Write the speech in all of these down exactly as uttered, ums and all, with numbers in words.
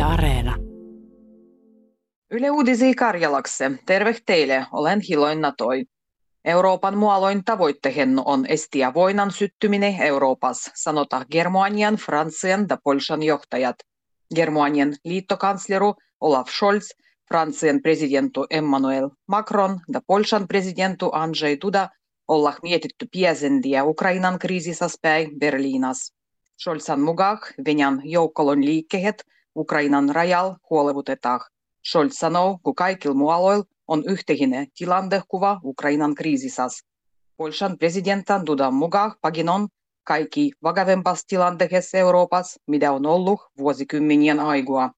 Yle Areena. Yle Uudisi Karjalakse. Terve teille, olen Hiloin Natoi. Euroopan mualoin tavoittehenno on estiä voinan syttyminen Euroopassa, sanota Germanian, Fransian ja Polshan johtajat. Germanian liittokansleru Olaf Scholz, Fransian presidentu Emmanuel Macron ja Polshan presidentu Andrzej Duda ollaan mietitty piesendiä Ukrainan kriisisas päin Berliinas. Scholzan mukaan Venäjän joukkolon liikkeet Ukrainan rajal huolevutetaan. Scholz sanoo, kun kaikilla mualoilla on yhteinen tilannekuva Ukrainan kriisisas. Polshan presidentan Dudan mukaan pagin on kaikki vakavempassa tilanteessa Euroopassa, mitä on ollut vuosikymmenien aigua.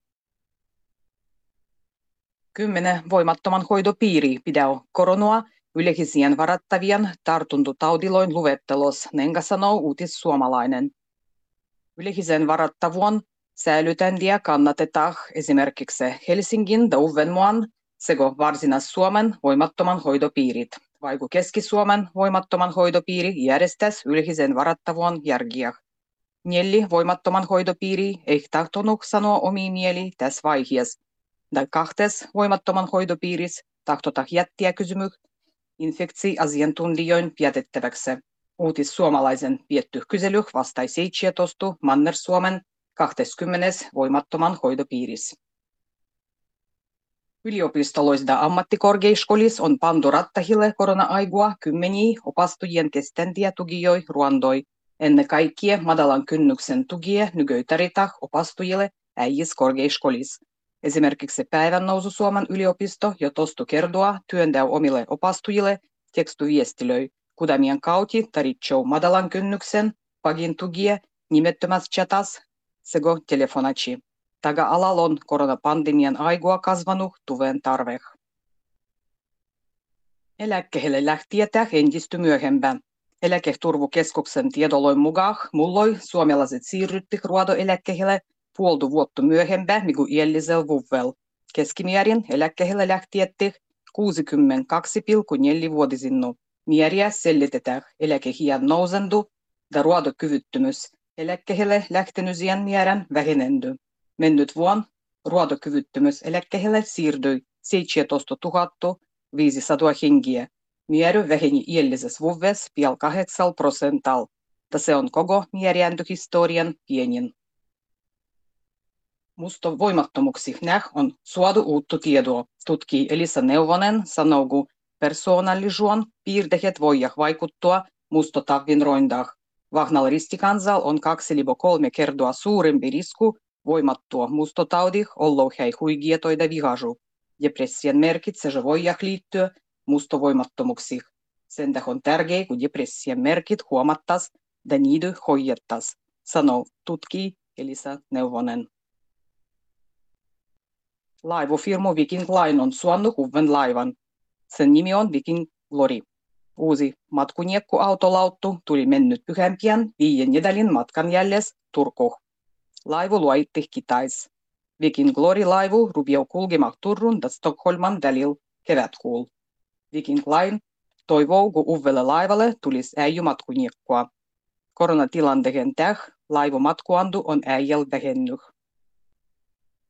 Kymmenen voimattoman hoitopiiri pidää koronaa yleisien varattavien tartuntotaudiloin luettelos, nenga sanoo Uutis Suomalainen. Yleisen varattavuon säilytäntiä kannatetaan esimerkiksi Helsingin ja Uudenmaan sekä Varsinais-Suomen voimattoman hoitopiirit, vaikka Keski-Suomen voimattoman hoitopiiri järjestäisi yleisen varattavuon järkiä. Neljä voimattoman hoitopiiri ei tahtonut sanoa omia mieli tässä vaiheessa. Ja kahtes voimattoman hoitopiirissä tahtotaan jättiä kysymys infektioasiantuntijoin päätettäväksi. Uutis Suomalaisen vietty kysely vastai seitsemäntoista Manner-Suomen kaksikymmentä voimattoman hoitopiirissä. Yliopistoloissa ja ammattikorkeakouluissa on pantu rattahille korona-aigua kymmeniä opastujien kestäviä tukijoja ruandoi. Ennen kaikkea matalan kynnyksen tukia nykyitarita opastujille äijis korkeakouluissa. Esimerkiksi Päivän nousu Suomen yliopisto jo tostu kertoa työntäjä omille opastujille tekstuviestilöi, kudamien kauti taritsou matalan kynnyksen pagin tukia nimettömässä chatas sekä telefonaci. Taga alalla on koronapandemian aigua kasvanut tuen tarve. Eläkkeelle lähtijätä entistä myöhempään. Eläketurvakeskuksen tiedoloin mukaan mulloi suomalaiset siirrytti ruodoeläkkeelle puolta vuotta myöhempään mikä iällisellä vuodella. Keskimäärin eläkkeelle lähtijätti kuusikymmentäkaksi pilkku neljä vuotisinnu. Määriä selitetään eläkeiän nousendu ja ruodokyvyttömyys. Eläkkeelle lähtenysien määrän vähenendy. Mennyt vuonna ruodokyvyttömyys eläkkeelle siirtyi seitsemäntoistatuhatta viisisataa hengiä. Määrä väheni iällisessä vuodessa pian kahdeksalla prosentalla. Ja se on koko määrääntöhistorian pienin. Musta voimattomuksi näh on suodu uutta tietoa. Tutkii Elisa Neuvonen sanoo, kun persoonallisuuden piirteet voivat vaikuttaa mustotavvinrointaan. Vahnalla ristikansal on kaksi libo kolme kertaa suurempi risku voimattua mustotaudih olloin hei huigietoida vihažu. Depressian merkit se voivat liittyä mustovoimattomuksiin. Sen tähän on tärkeää, kun depressian merkit huomattas ja niitä hoidettas, sanoo tutkii Elisa Neuvonen. Laivofirma Viking Line on suonnut uuden laivan. Sen nimi on Viking Glory. Uusi matkuniekkuautolauttu tuli mennyt pyhämpiän viiden nedälin matkan jälles Turkuun. Laivu luoitti Kitais. Viking Glory-laivu rupeaa kulkemaan Turun ja Stockholman välillä kevätkuulla. Viking Line toivoo, kun uudelle laivalle tulisi äijymatkuniekkoa. Koronatilanteen täh laivumatkuandu on äijällä vähennyt.